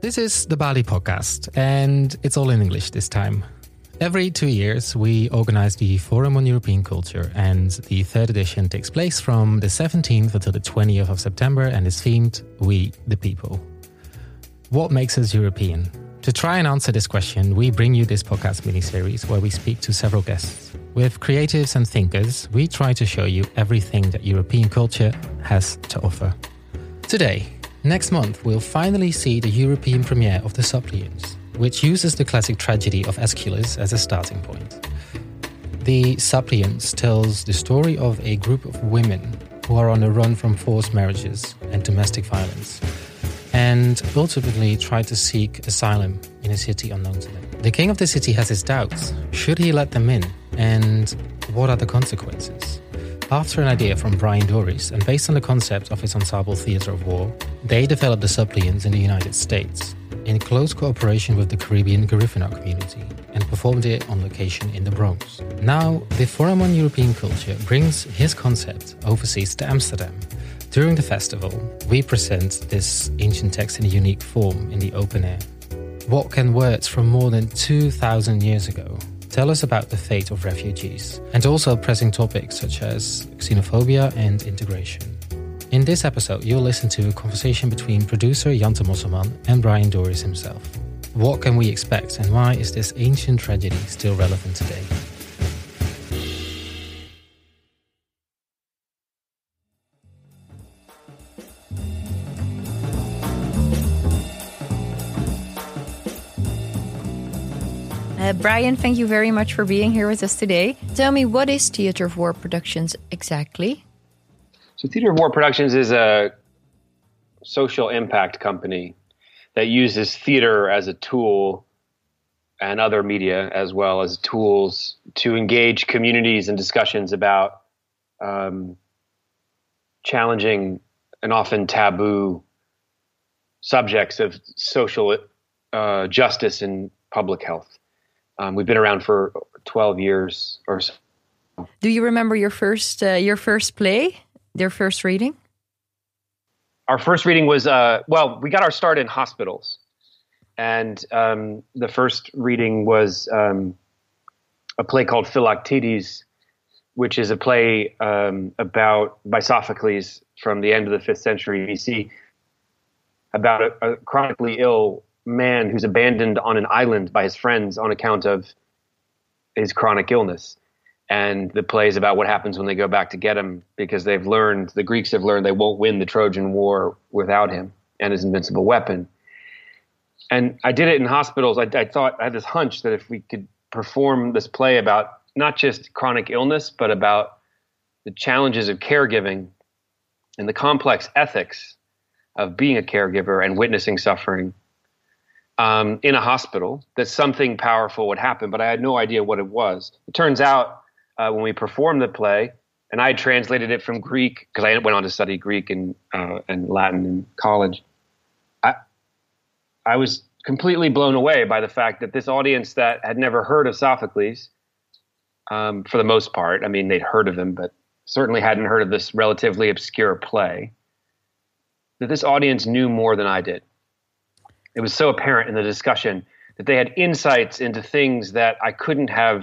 This is the Bali podcast, and it's all in English this time. Every 2 years, we organize the Forum on European Culture, and the third edition takes place from the 17th until the 20th of September and is themed We the People. What makes us European? To try and answer this question, we bring you this podcast mini-series where we speak to several guests. With creatives and thinkers, we try to show you everything that European culture has to offer. Today, next month, we'll finally see the European premiere of The Suppliants, which uses the classic tragedy of Aeschylus as a starting point. The Suppliants tells the story of a group of women who are on the run from forced marriages and domestic violence, and ultimately try to seek asylum in a city unknown to them. The king of the city has his doubts. Should he let them in? And what are the consequences? After an idea from Brian Doris, and based on the concept of his ensemble Theatre of War, they developed the Suppliants in the United States, in close cooperation with the Caribbean Garifuna community, and performed it on location in the Bronx. Now, the Forum on European Culture brings his concept overseas to Amsterdam. During the festival, we present this ancient text in a unique form in the open air. What can words from more than 2,000 years ago tell us about the fate of refugees, and also pressing topics such as xenophobia and integration? In this episode, you'll listen to a conversation between producer Jante Mosselman and Brian Doris himself. What can we expect, and why is this ancient tragedy still relevant today? Brian, thank you very much for being here with us today. Tell me, what is Theatre of War Productions exactly? So Theatre of War Productions is a social impact company that uses theater as a tool and other media as well as tools to engage communities in discussions about challenging and often taboo subjects of social justice and public health. We've been around for 12 years or so. Do you remember your first play, your first reading? Our first reading was, we got our start in hospitals. And the first reading was a play called Philoctetes, which is a play by Sophocles from the end of the 5th century BC, about a chronically ill man who's abandoned on an island by his friends on account of his chronic illness. And the play is about what happens when they go back to get him, because the Greeks have learned they won't win the Trojan War without him and his invincible weapon. And I did it in hospitals. I had this hunch that if we could perform this play about not just chronic illness, but about the challenges of caregiving and the complex ethics of being a caregiver and witnessing suffering, in a hospital, that something powerful would happen, but I had no idea what it was. It turns out when we performed the play, and I had translated it from Greek, because I went on to study Greek and Latin in college, I was completely blown away by the fact that this audience that had never heard of Sophocles, for the most part, I mean, they'd heard of him, but certainly hadn't heard of this relatively obscure play, that this audience knew more than I did. It was so apparent in the discussion that they had insights into things that I couldn't have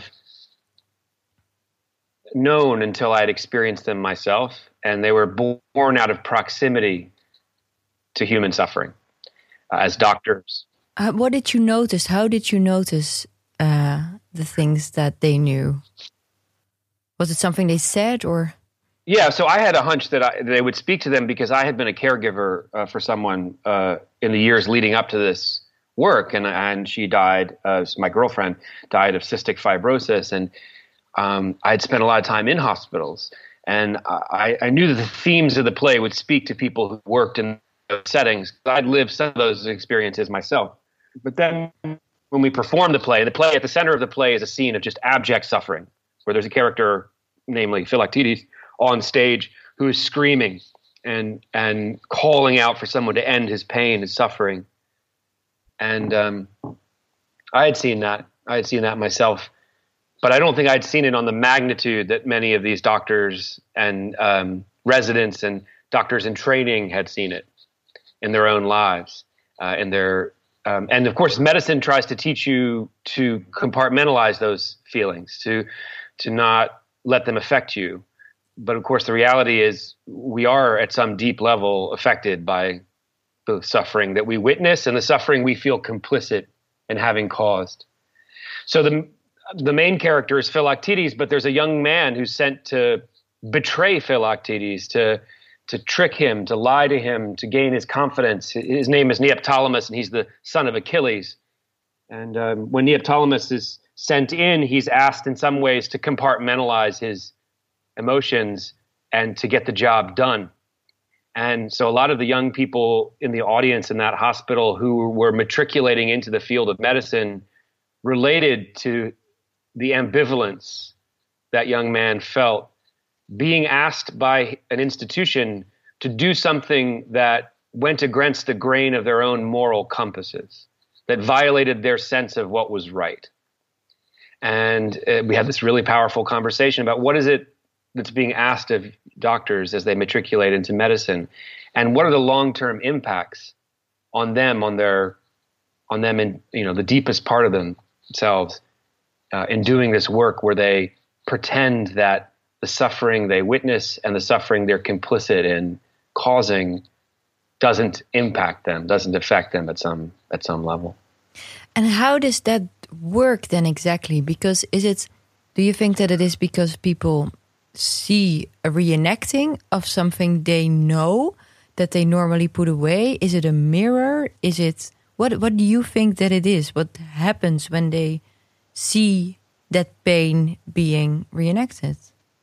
known until I had experienced them myself. And they were born out of proximity to human suffering as doctors. What did you notice? How did you notice the things that they knew? Was it something they said or? Yeah, so I had a hunch that they would speak to them because I had been a caregiver for someone in the years leading up to this work, and she died. My girlfriend died of cystic fibrosis, and I had spent a lot of time in hospitals, and I knew that the themes of the play would speak to people who worked in those settings. I'd lived some of those experiences myself. But then when we performed the play at the center of the play is a scene of just abject suffering, where there's a character, namely Philoctetes, on stage who is screaming and calling out for someone to end his pain, his suffering. And I had seen that. I had seen that myself. But I don't think I'd seen it on the magnitude that many of these doctors and residents and doctors in training had seen it in their own lives, in their And of course, medicine tries to teach you to compartmentalize those feelings, to not let them affect you. But of course, the reality is we are at some deep level affected by the suffering that we witness and the suffering we feel complicit in having caused. So the main character is Philoctetes, but there's a young man who's sent to betray Philoctetes, to trick him, to lie to him, to gain his confidence. His name is Neoptolemus, and he's the son of Achilles. And when Neoptolemus is sent in, he's asked in some ways to compartmentalize his emotions and to get the job done. And so a lot of the young people in the audience in that hospital who were matriculating into the field of medicine related to the ambivalence that young man felt being asked by an institution to do something that went against the grain of their own moral compasses, that violated their sense of what was right. And we had this really powerful conversation about what is it that's being asked of doctors as they matriculate into medicine, and what are the long-term impacts on them, in the deepest part of themselves, in doing this work where they pretend that the suffering they witness and the suffering they're complicit in causing doesn't impact them, doesn't affect them at some level. And how does that work then exactly? Because do you think that it is because people see a reenacting of something they know that they normally put away? Is it a mirror? Is it what do you think that it is? What happens when they see that pain being reenacted?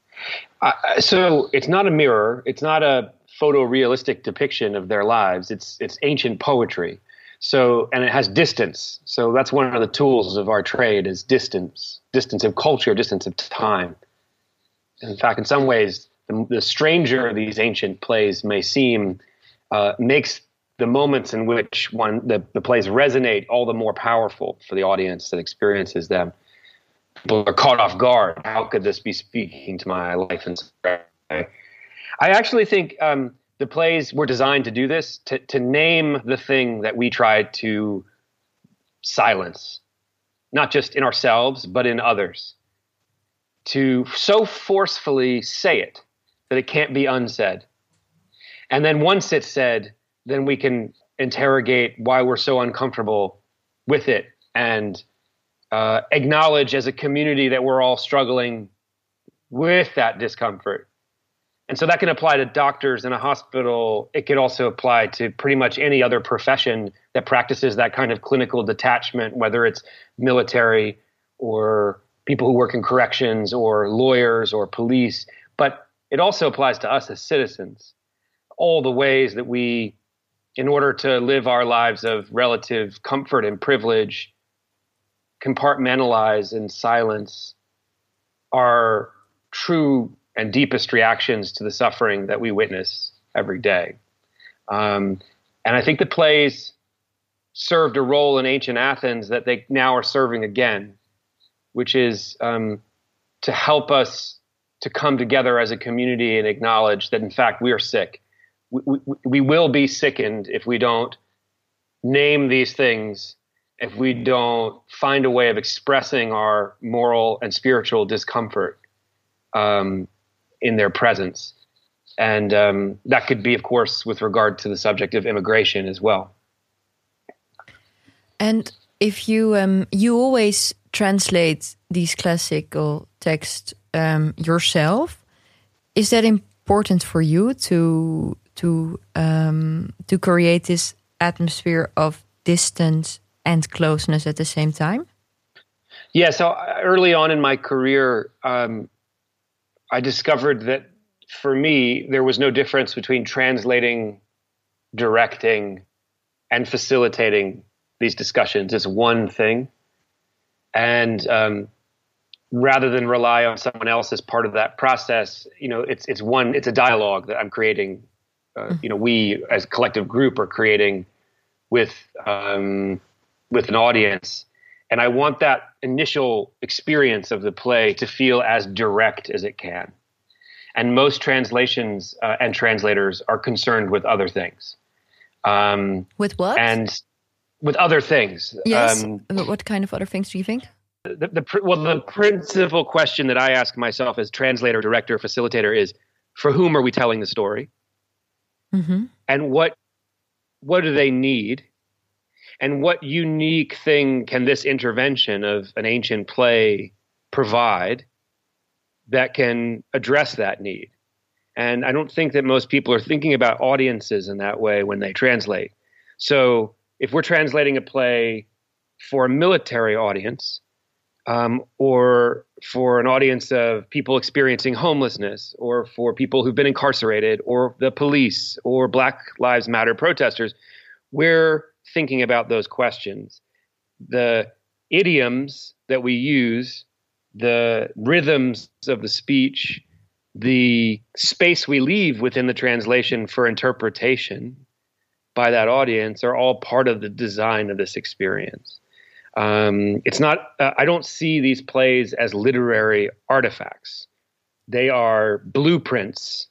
So it's not a mirror. It's not a photorealistic depiction of their lives. It's ancient poetry. So, and it has distance. So that's one of the tools of our trade is distance of culture, distance of time. In fact, in some ways, the stranger these ancient plays may seem makes the moments in which the plays resonate all the more powerful for the audience that experiences them. People are caught off guard. How could this be speaking to my life in some way? I actually think the plays were designed to do this, to name the thing that we try to silence, not just in ourselves, but in others. To so forcefully say it that it can't be unsaid. And then once it's said, then we can interrogate why we're so uncomfortable with it and acknowledge as a community that we're all struggling with that discomfort. And so that can apply to doctors in a hospital. It could also apply to pretty much any other profession that practices that kind of clinical detachment, whether it's military or people who work in corrections or lawyers or police. But it also applies to us as citizens. All the ways that we, in order to live our lives of relative comfort and privilege, compartmentalize and silence our true and deepest reactions to the suffering that we witness every day. And I think the plays served a role in ancient Athens that they now are serving again, which is to help us to come together as a community and acknowledge that, in fact, we are sick. We will be sickened if we don't name these things, if we don't find a way of expressing our moral and spiritual discomfort in their presence. And that could be, of course, with regard to the subject of immigration as well. And if you always translate these classical texts yourself, is that important for you to create this atmosphere of distance and closeness at the same time? Yeah. So early on in my career, I discovered that for me, there was no difference between translating, directing, and facilitating these discussions. It's one thing. And rather than rely on someone else as part of that process, it's a dialogue that I'm creating. We as a collective group are creating with an audience. And I want that initial experience of the play to feel as direct as it can. And most translations and translators are concerned with other things. With what? And with other things. Yes. What kind of other things do you think? The principal question that I ask myself as translator, director, facilitator is, for whom are we telling the story? Mm-hmm. And what do they need? And what unique thing can this intervention of an ancient play provide that can address that need? And I don't think that most people are thinking about audiences in that way when they translate. So if we're translating a play for a military audience, or for an audience of people experiencing homelessness, or for people who've been incarcerated, or the police, or Black Lives Matter protesters, we're thinking about those questions. The idioms that we use, the rhythms of the speech, the space we leave within the translation for interpretation by that audience are all part of the design of this experience. It's not, I don't see these plays as literary artifacts. They are blueprints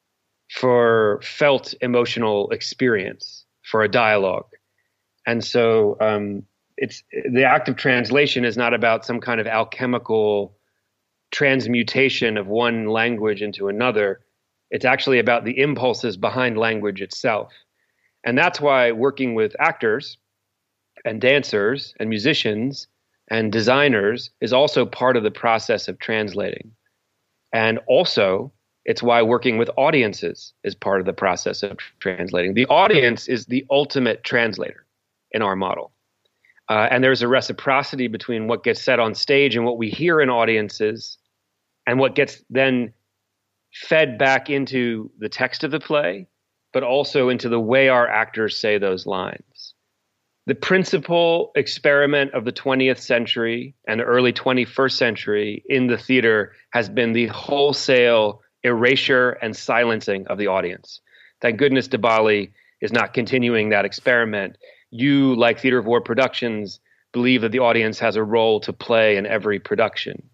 for felt emotional experience, for a dialogue. And so it's the act of translation is not about some kind of alchemical transmutation of one language into another. It's actually about the impulses behind language itself. And that's why working with actors and dancers and musicians and designers is also part of the process of translating. And also, it's why working with audiences is part of the process of translating. The audience is the ultimate translator in our model. And there's a reciprocity between what gets said on stage and what we hear in audiences and what gets then fed back into the text of the play, but also into the way our actors say those lines. The principal experiment of the 20th century and the early 21st century in the theater has been the wholesale erasure and silencing of the audience. Thank goodness Debali is not continuing that experiment. You, like Theater of War Productions, believe that the audience has a role to play in every production.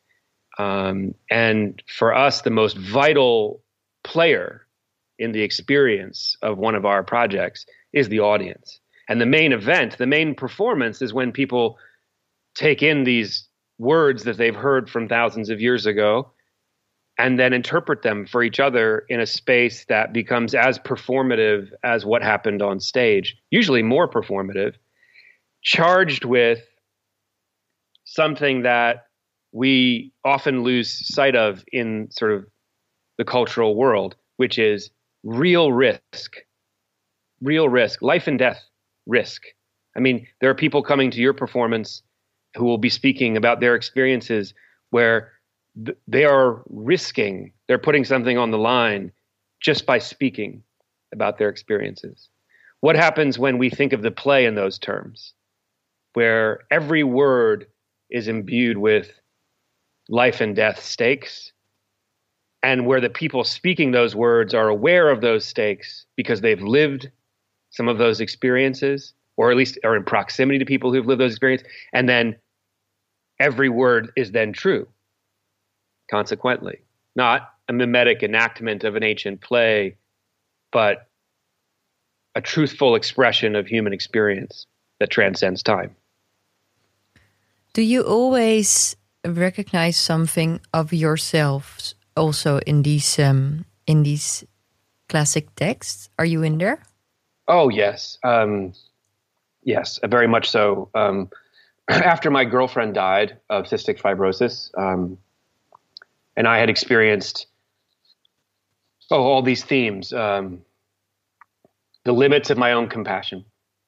And for us, the most vital player in the experience of one of our projects is the audience. And the main event, the main performance is when people take in these words that they've heard from thousands of years ago and then interpret them for each other in a space that becomes as performative as what happened on stage, usually more performative, charged with something that we often lose sight of in sort of the cultural world, which is real risk, life and death risk. I mean, there are people coming to your performance who will be speaking about their experiences where they are risking, they're putting something on the line just by speaking about their experiences. What happens when we think of the play in those terms, where every word is imbued with life and death stakes, and where the people speaking those words are aware of those stakes because they've lived some of those experiences, or at least are in proximity to people who've lived those experiences, and then every word is then true, consequently. Not a mimetic enactment of an ancient play, but a truthful expression of human experience that transcends time. Do you always recognize something of yourselves also in these classic texts? Are you in there? Oh, yes. Yes, very much so. After my girlfriend died of cystic fibrosis, and I had experienced all these themes, the limits of my own compassion,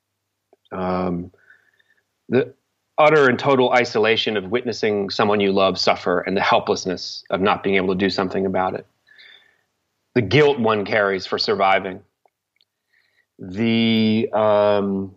the utter and total isolation of witnessing someone you love suffer, and the helplessness of not being able to do something about it, the guilt one carries for surviving, I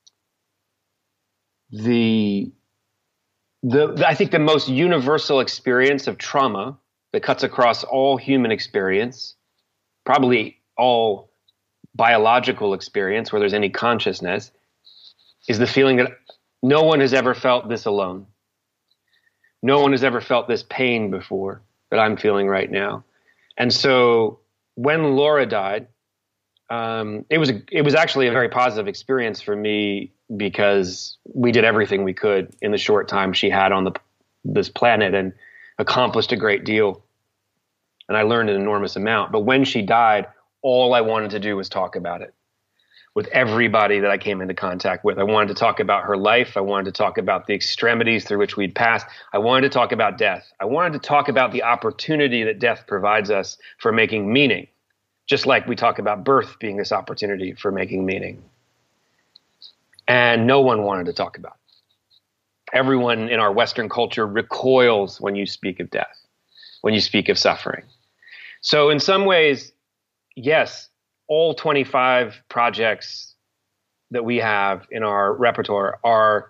think the most universal experience of trauma that cuts across all human experience, probably all biological experience where there's any consciousness, is the feeling that no one has ever felt this alone. No one has ever felt this pain before that I'm feeling right now. And so when Laura died, it was actually a very positive experience for me because we did everything we could in the short time she had on this planet and accomplished a great deal. And I learned an enormous amount. But when she died, all I wanted to do was talk about it with everybody that I came into contact with. I wanted to talk about her life. I wanted to talk about the extremities through which we'd passed. I wanted to talk about death. I wanted to talk about the opportunity that death provides us for making meaning, just like we talk about birth being this opportunity for making meaning. And no one wanted to talk about it. Everyone in our Western culture recoils when you speak of death, when you speak of suffering. So in some ways, yes, all 25 projects that we have in our repertoire are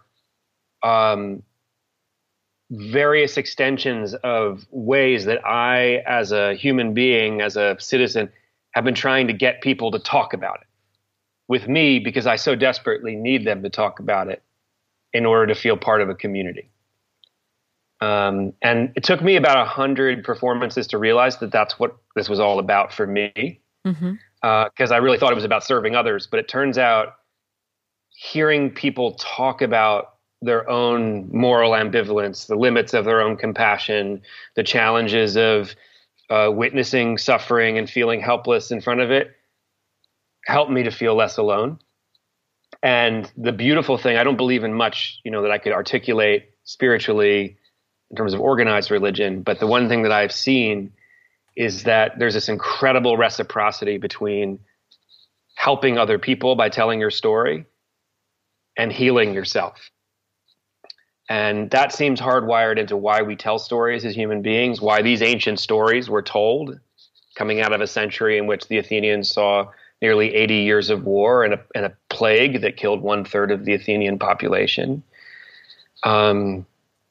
various extensions of ways that I, as a human being, as a citizen, have been trying to get people to talk about it with me, because I so desperately need them to talk about it in order to feel part of a community. And it took me about 100 performances to realize that that's what this was all about for me. Because I really thought it was about serving others. But it turns out hearing people talk about their own moral ambivalence, the limits of their own compassion, the challenges of witnessing suffering and feeling helpless in front of it, helped me to feel less alone. And the beautiful thing, I don't believe in much, that I could articulate spiritually in terms of organized religion. But the one thing that I've seen is that there's this incredible reciprocity between helping other people by telling your story and healing yourself. And that seems hardwired into why we tell stories as human beings, why these ancient stories were told, coming out of a century in which the Athenians saw nearly 80 years of war and a plague that killed 1/3 of the Athenian population. And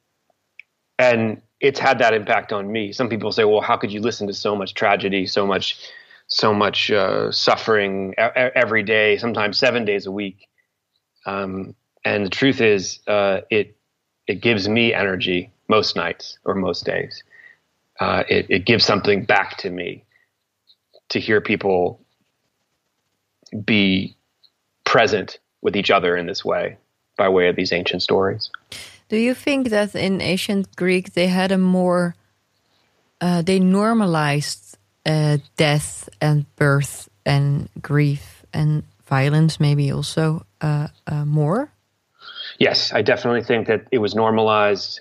it's had that impact on me. Some people say, well, how could you listen to so much tragedy, so much suffering every day, sometimes 7 days a week? And the truth is, it gives me energy most nights or most days. It gives something back to me to hear people be present with each other in this way, by way of these ancient stories. Do you think that in ancient Greek they had a more, they normalized death and birth and grief and violence maybe also more? Yes, I definitely think that it was normalized.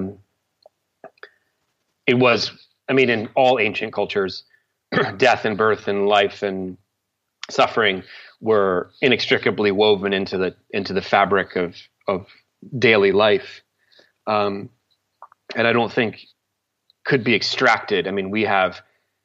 It was, in all ancient cultures, death and birth and life and suffering were inextricably woven into the fabric of daily life, and I don't think could be extracted. We have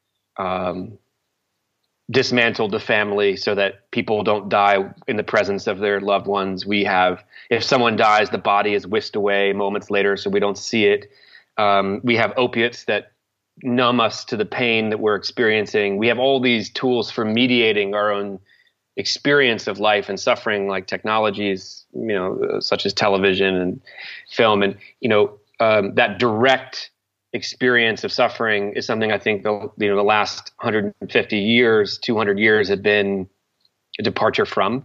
dismantled the family so that people don't die in the presence of their loved ones. We have, if someone dies, the body is whisked away moments later so we don't see it. We have opiates that numb us to the pain that we're experiencing. We have all these tools for mediating our own experience of life and suffering, like technologies, such as television and film. And, that direct experience of suffering is something I think the last 150 years, 200 years have been a departure from.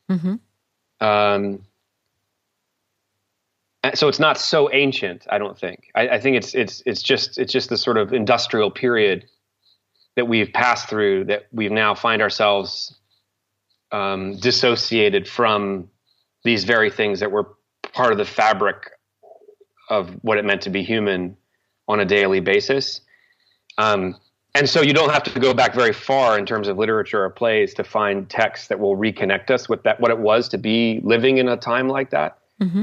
So it's not so ancient, I don't think. I think it's just the sort of industrial period that we've passed through, that we now find ourselves dissociated from these very things that were part of the fabric of what it meant to be human on a daily basis. And so you don't have to go back very far in terms of literature or plays to find texts that will reconnect us with that, what it was to be living in a time like that.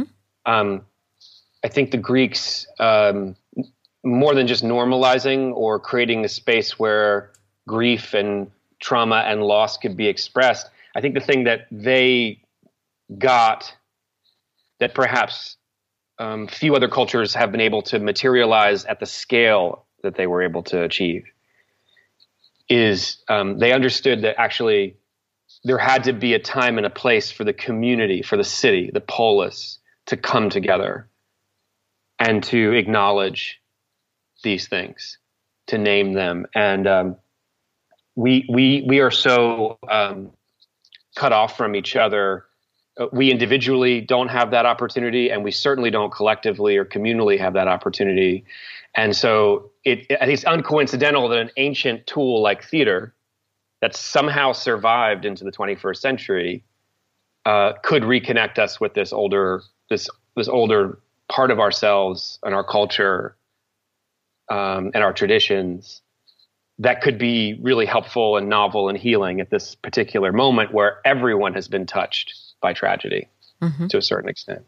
I think the Greeks, more than just normalizing or creating a space where grief and trauma and loss could be expressed, I think the thing that they got that perhaps few other cultures have been able to materialize at the scale that they were able to achieve is they understood that actually there had to be a time and a place for the community, for the city, the polis, to come together and to acknowledge these things, to name them. And we are so cut off from each other we individually don't have that opportunity, and we certainly don't collectively or communally have that opportunity. And so I think it's uncoincidental that an ancient tool like theater that somehow survived into the 21st century could reconnect us with this older part of ourselves and our culture and our traditions that could be really helpful and novel and healing at this particular moment where everyone has been touched by tragedy to a certain extent.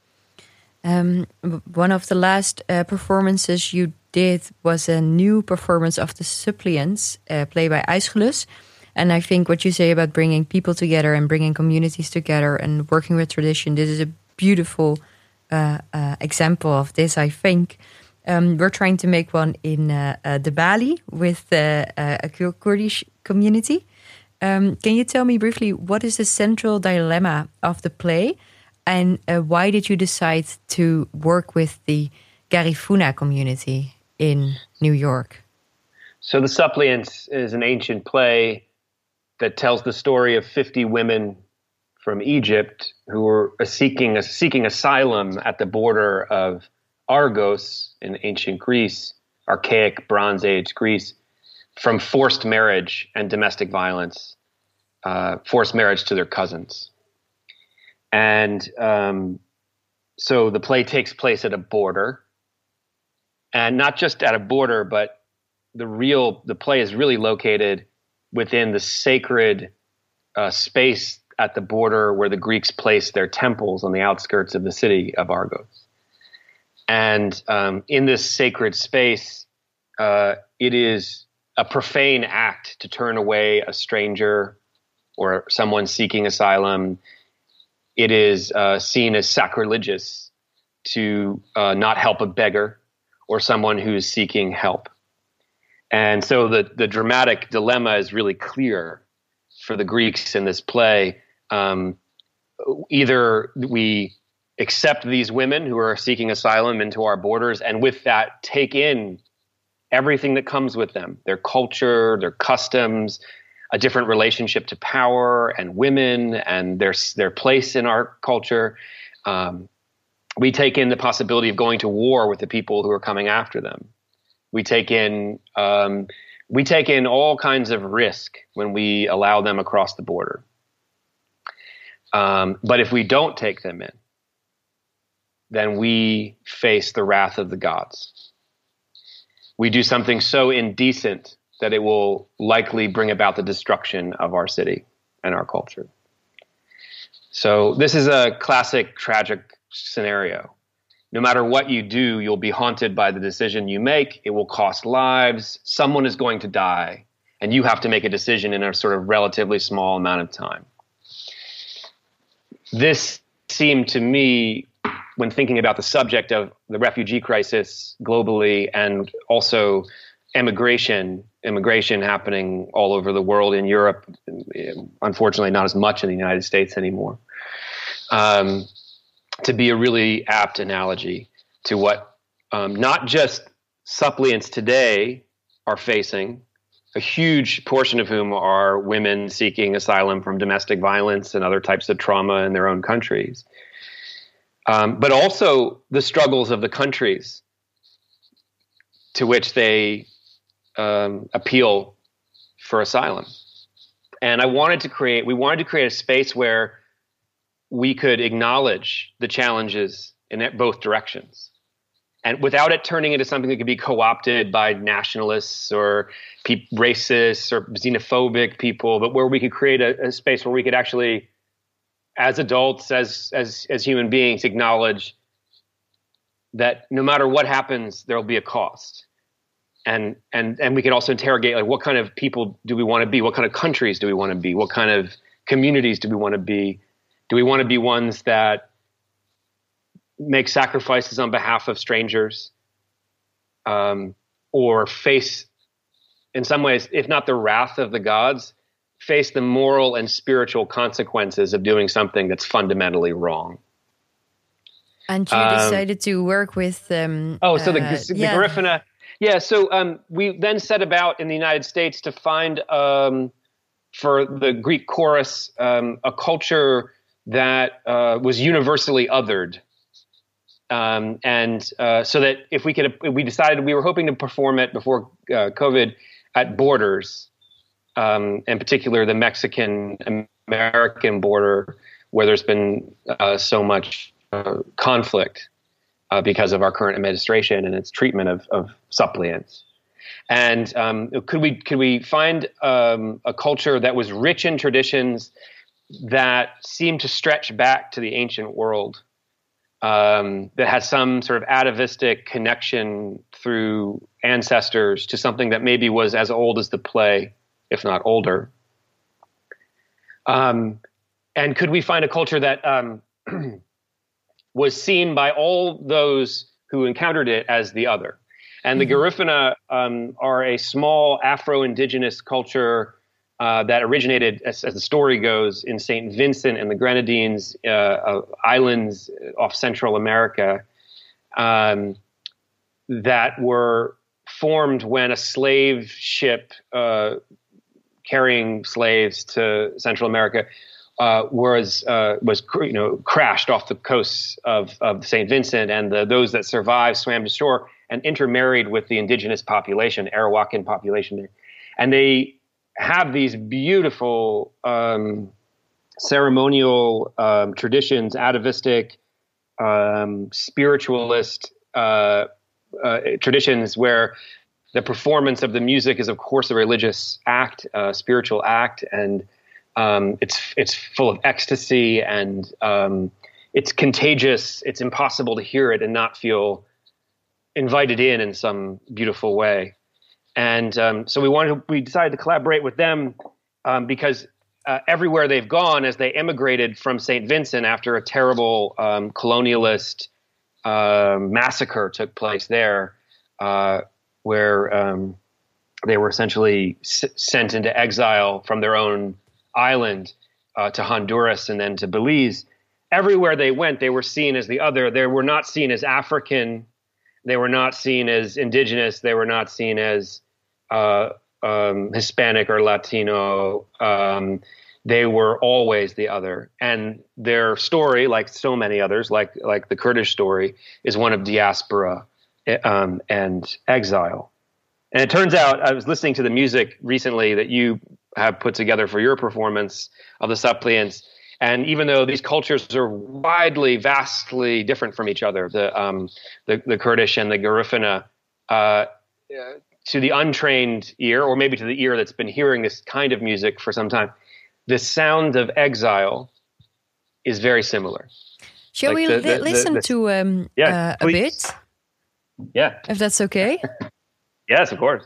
One of the last performances you did was a new performance of The Suppliants, played by Aeschylus. And I think what you say about bringing people together and bringing communities together and working with tradition, this is a beautiful example of this, I think. We're trying to make one in the Bali with a Kurdish community. Can you tell me briefly what is the central dilemma of the play, and why did you decide to work with the Garifuna community in New York? So The Suppliants is an ancient play that tells the story of 50 women from Egypt who were seeking asylum at the border of Argos in ancient Greece, archaic Bronze Age Greece, from forced marriage and domestic violence, forced marriage to their cousins. And so the play takes place at a border, and not just at a border, but the play is really located within the sacred space at the border where the Greeks placed their temples on the outskirts of the city of Argos. And in this sacred space, it is a profane act to turn away a stranger or someone seeking asylum. It is seen as sacrilegious to not help a beggar or someone who is seeking help. And so the dramatic dilemma is really clear for the Greeks in this play. Either we accept these women who are seeking asylum into our borders, and with that take in everything that comes with them, their culture, their customs, a different relationship to power and women and their place in our culture. We take in the possibility of going to war with the people who are coming after them. We take in all kinds of risk when we allow them across the border. But if we don't take them in, then we face the wrath of the gods. We do something so indecent that it will likely bring about the destruction of our city and our culture. So this is a classic tragic scenario. No matter what you do, you'll be haunted by the decision you make. It will cost lives. Someone is going to die, and you have to make a decision in a sort of relatively small amount of time. This seemed to me, when thinking about the subject of the refugee crisis globally and also immigration happening all over the world, in Europe, unfortunately not as much in the United States anymore, to be a really apt analogy to what not just suppliants today are facing, a huge portion of whom are women seeking asylum from domestic violence and other types of trauma in their own countries, but also the struggles of the countries to which they appeal for asylum. And we wanted to create a space where we could acknowledge the challenges in both directions, and without it turning into something that could be co-opted by nationalists or racists or xenophobic people, but where we could create a space where we could actually, as adults, as human beings, acknowledge that no matter what happens, there will be a cost. And we could also interrogate, like, what kind of people do we want to be? What kind of countries do we want to be? What kind of communities do we want to be? Do we want to be ones that make sacrifices on behalf of strangers, or face, in some ways, if not the wrath of the gods, face the moral and spiritual consequences of doing something that's fundamentally wrong? And you decided to work with the Garifuna. Yeah, so we then set about in the United States to find, for the Greek chorus, a culture that was universally othered. So that if we decided we were hoping to perform it before COVID at borders, in particular the Mexican-American border, where there's been so much conflict because of our current administration and its treatment of suppliants. And could we find a culture that was rich in traditions that seemed to stretch back to the ancient world, that had some sort of atavistic connection through ancestors to something that maybe was as old as the play, if not older? And could we find a culture that was seen by all those who encountered it as the other? And the Garifuna are a small Afro-Indigenous culture that originated, as the story goes, in St. Vincent and the Grenadines, islands off Central America, that were formed when a slave ship carrying slaves to Central America was crashed off the coasts of St. Vincent, and those that survived swam to shore and intermarried with the indigenous population, Arawakan population there. And they have these beautiful ceremonial traditions, atavistic, spiritualist traditions, where the performance of the music is, of course, a religious act, a spiritual act, and it's full of ecstasy, and it's contagious. It's impossible to hear it and not feel invited in some beautiful way. And so we decided to collaborate with them because everywhere they've gone, as they emigrated from St. Vincent after a terrible colonialist massacre took place there, where they were essentially sent into exile from their own island to Honduras and then to Belize. Everywhere they went, they were seen as the other. They were not seen as African. They were not seen as indigenous. They were not seen as Hispanic or Latino. They were always the other. And their story, like so many others, like the Kurdish story, is one of diaspora and exile. And it turns out, I was listening to the music recently that you have put together for your performance of the Suppliants, and even though these cultures are vastly different from each other, the Kurdish and the Garifuna, to the untrained ear, or maybe to the ear that's been hearing this kind of music for some time, the sound of exile is very similar. Shall we listen to a bit? Yeah. If that's okay? Yes, of course.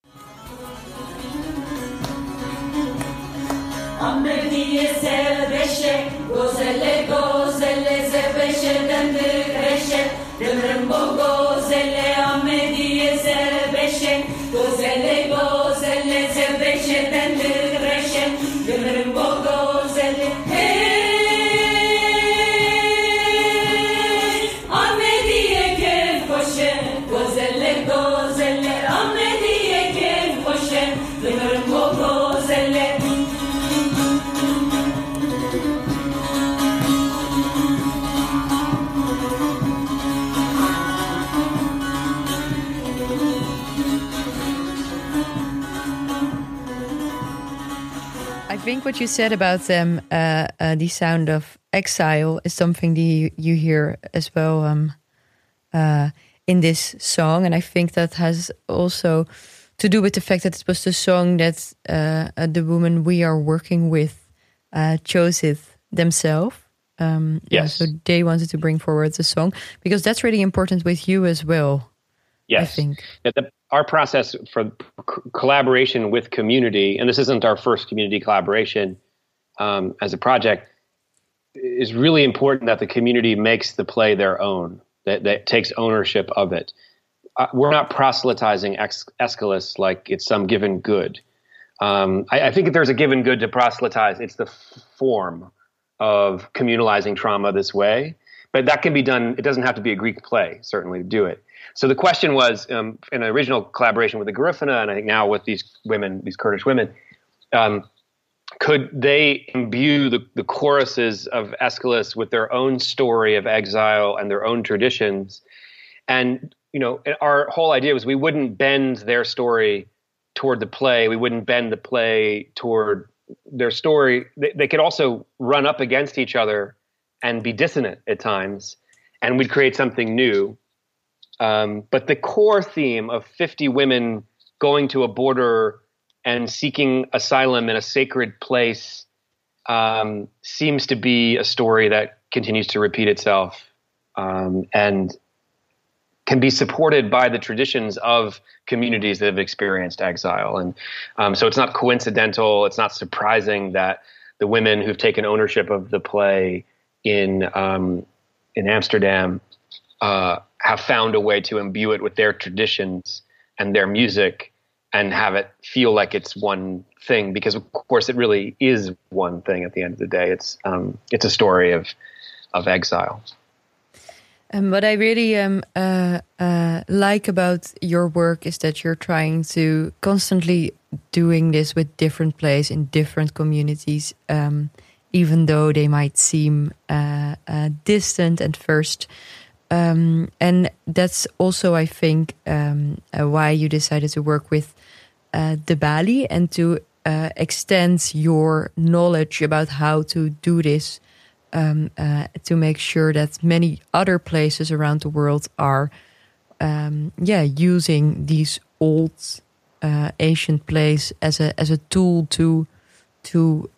I think what you said about them, the sound of exile, is something you hear as well in this song. And I think that has also to do with the fact that it was the song that the woman we are working with chose it themselves. Yes. So they wanted to bring forward the song, because that's really important with you as well. Yes. I think. Our process for collaboration with community, and this isn't our first community collaboration as a project, is really important that the community makes the play their own, that takes ownership of it. We're not proselytizing Aeschylus like it's some given good. I think if there's a given good to proselytize, it's the form of communalizing trauma this way. But that can be done. It doesn't have to be a Greek play, certainly, to do it. So the question was, in an original collaboration with the Garifuna, and I think now with these women, these Kurdish women, could they imbue the choruses of Aeschylus with their own story of exile and their own traditions? And, our whole idea was we wouldn't bend their story toward the play. We wouldn't bend the play toward their story. They could also run up against each other and be dissonant at times, and we'd create something new. But the core theme of 50 women going to a border and seeking asylum in a sacred place seems to be a story that continues to repeat itself and can be supported by the traditions of communities that have experienced exile. And so it's not coincidental, it's not surprising that the women who've taken ownership of the play in Amsterdam have found a way to imbue it with their traditions and their music and have it feel like it's one thing, because of course it really is one thing at the end of the day. It's a story of exile. What I really like about your work is that you're trying to constantly doing this with different plays in different communities, even though they might seem distant at first. And that's also, I think, why you decided to work with De Bali and to extend your knowledge about how to do this, to make sure that many other places around the world are, using these old ancient plays as a tool to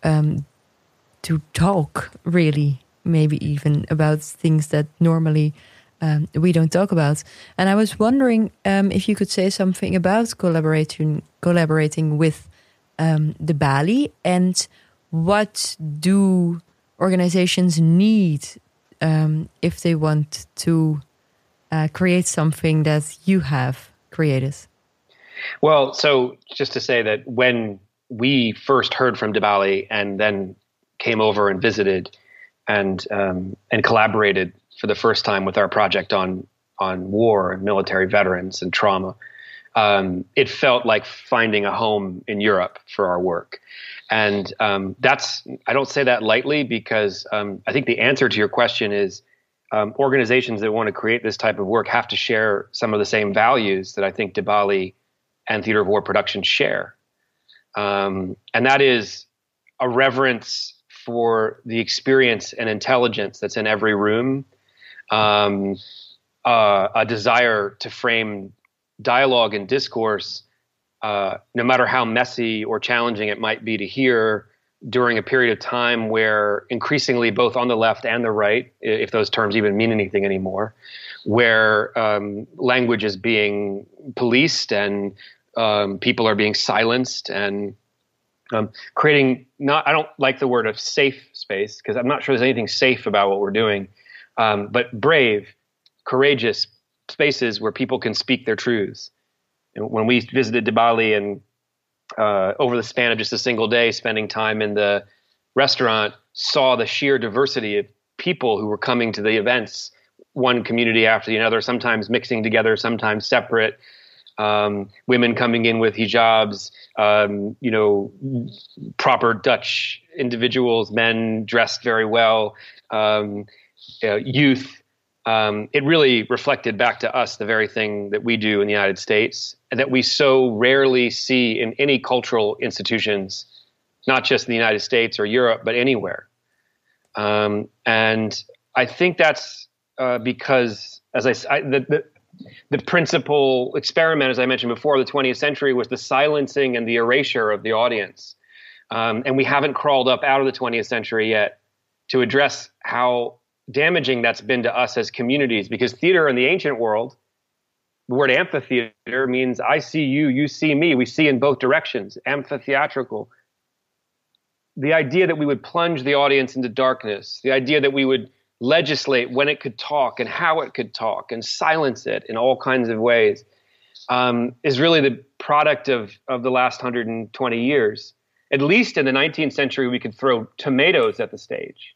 talk, really, maybe even about things that normally we don't talk about. And I was wondering if you could say something about collaborating with De Bali, and what do organizations need if they want to create something that you have created? Well, so just to say that when we first heard from De Bali and then came over and visited and collaborated for the first time with our project on war and military veterans and trauma, it felt like finding a home in Europe for our work. And I don't say that lightly, because I think the answer to your question is organizations that want to create this type of work have to share some of the same values that I think De Bali and Theater of War Productions share. And that is a reverence for the experience and intelligence that's in every room, a desire to frame dialogue and discourse, no matter how messy or challenging it might be to hear, during a period of time where increasingly both on the left and the right, if those terms even mean anything anymore, where language is being policed and people are being silenced, and creating I don't like the word of safe space, because I'm not sure there's anything safe about what we're doing, but brave, courageous spaces where people can speak their truths. And when we visited De Bali, and over the span of just a single day, spending time in the restaurant, saw the sheer diversity of people who were coming to the events, one community after another, sometimes mixing together, sometimes separate. Women coming in with hijabs, proper Dutch individuals, men dressed very well, youth. It really reflected back to us the very thing that we do in the United States, and that we so rarely see in any cultural institutions, not just in the United States or Europe, but anywhere. And I think that's because, as the principal experiment, as I mentioned before, of the 20th century was the silencing and the erasure of the audience. And we haven't crawled up out of the 20th century yet to address how damaging that's been to us as communities, because theater in the ancient world, the word amphitheater means I see you, you see me. We see in both directions, amphitheatrical. The idea that we would plunge the audience into darkness, the idea that we would legislate when it could talk and how it could talk and silence it in all kinds of ways, is really the product of the last 120 years. At least in the 19th century, we could throw tomatoes at the stage,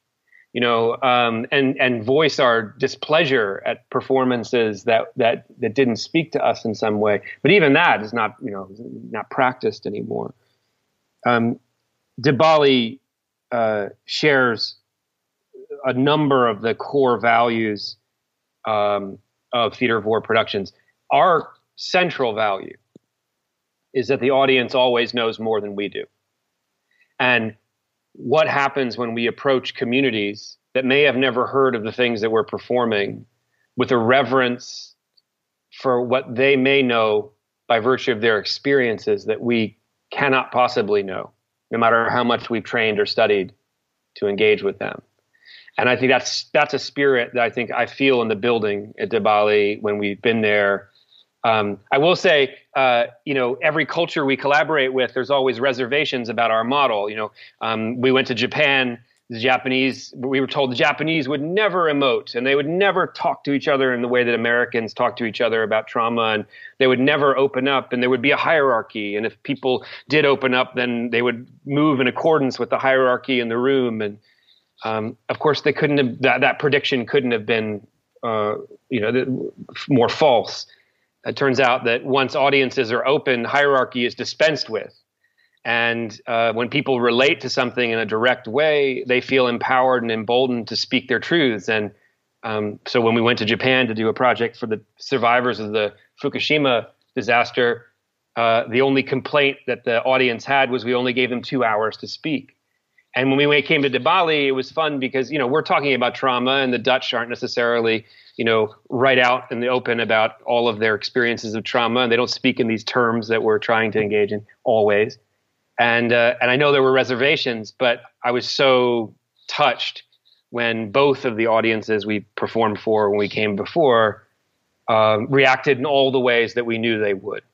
and voice our displeasure at performances that didn't speak to us in some way. But even that is not practiced anymore. De Bali shares a number of the core values of Theater of War Productions. Our central value is that the audience always knows more than we do. And what happens when we approach communities that may have never heard of the things that we're performing with a reverence for what they may know by virtue of their experiences that we cannot possibly know, no matter how much we've trained or studied to engage with them. And I think that's a spirit that I think I feel in the building at De Bali when we've been there. I will say, every culture we collaborate with, there's always reservations about our model. We went to Japan. We were told the Japanese would never emote, and they would never talk to each other in the way that Americans talk to each other about trauma, and they would never open up, and there would be a hierarchy. And if people did open up, then they would move in accordance with the hierarchy in the room. And of course, they couldn't have, that prediction couldn't have been more false. It turns out that once audiences are open, hierarchy is dispensed with. And when people relate to something in a direct way, they feel empowered and emboldened to speak their truths. And so when we went to Japan to do a project for the survivors of the Fukushima disaster, the only complaint that the audience had was we only gave them 2 hours to speak. And when we came to De Bali, it was fun because, we're talking about trauma, and the Dutch aren't necessarily, right out in the open about all of their experiences of trauma. And they don't speak in these terms that we're trying to engage in always. And I know there were reservations, but I was so touched when both of the audiences we performed for when we came before reacted in all the ways that we knew they would.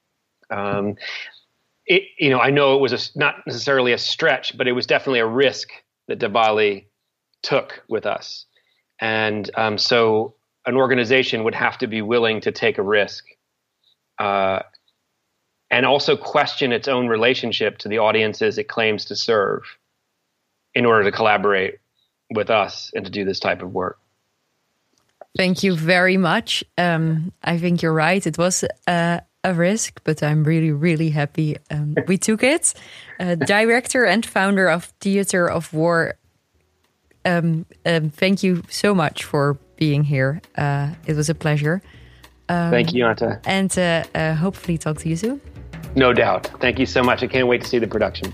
I know it was not necessarily a stretch, but it was definitely a risk that De Bali took with us. And so an organization would have to be willing to take a risk and also question its own relationship to the audiences it claims to serve in order to collaborate with us and to do this type of work. Thank you very much. I think you're right. It was a risk, but I'm really, really happy we took it. Director and founder of Theater of War, thank you so much for being here. It was a pleasure. Thank you, Anta. And hopefully talk to you soon. No doubt. Thank you so much. I can't wait to see the production.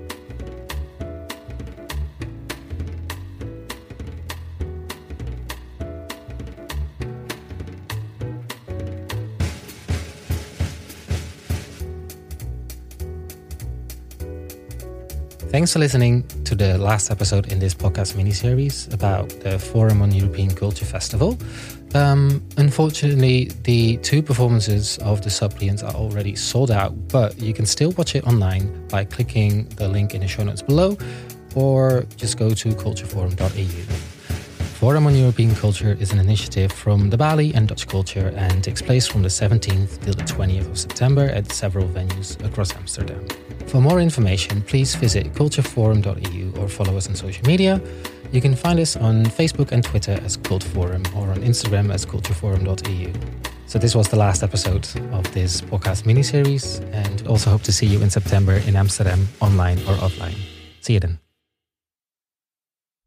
Thanks for listening to the last episode in this podcast miniseries about the Forum on European Culture Festival. Unfortunately, the 2 performances of The Suppliants are already sold out, but you can still watch it online by clicking the link in the show notes below, or just go to cultureforum.eu. Forum on European Culture is an initiative from De Bali and Dutch Culture and takes place from the 17th till the 20th of September at several venues across Amsterdam. For more information, please visit cultureforum.eu or follow us on social media. You can find us on Facebook and Twitter as Cult Forum or on Instagram as cultureforum.eu. So this was the last episode of this podcast miniseries, and also hope to see you in September in Amsterdam, online or offline. See you then.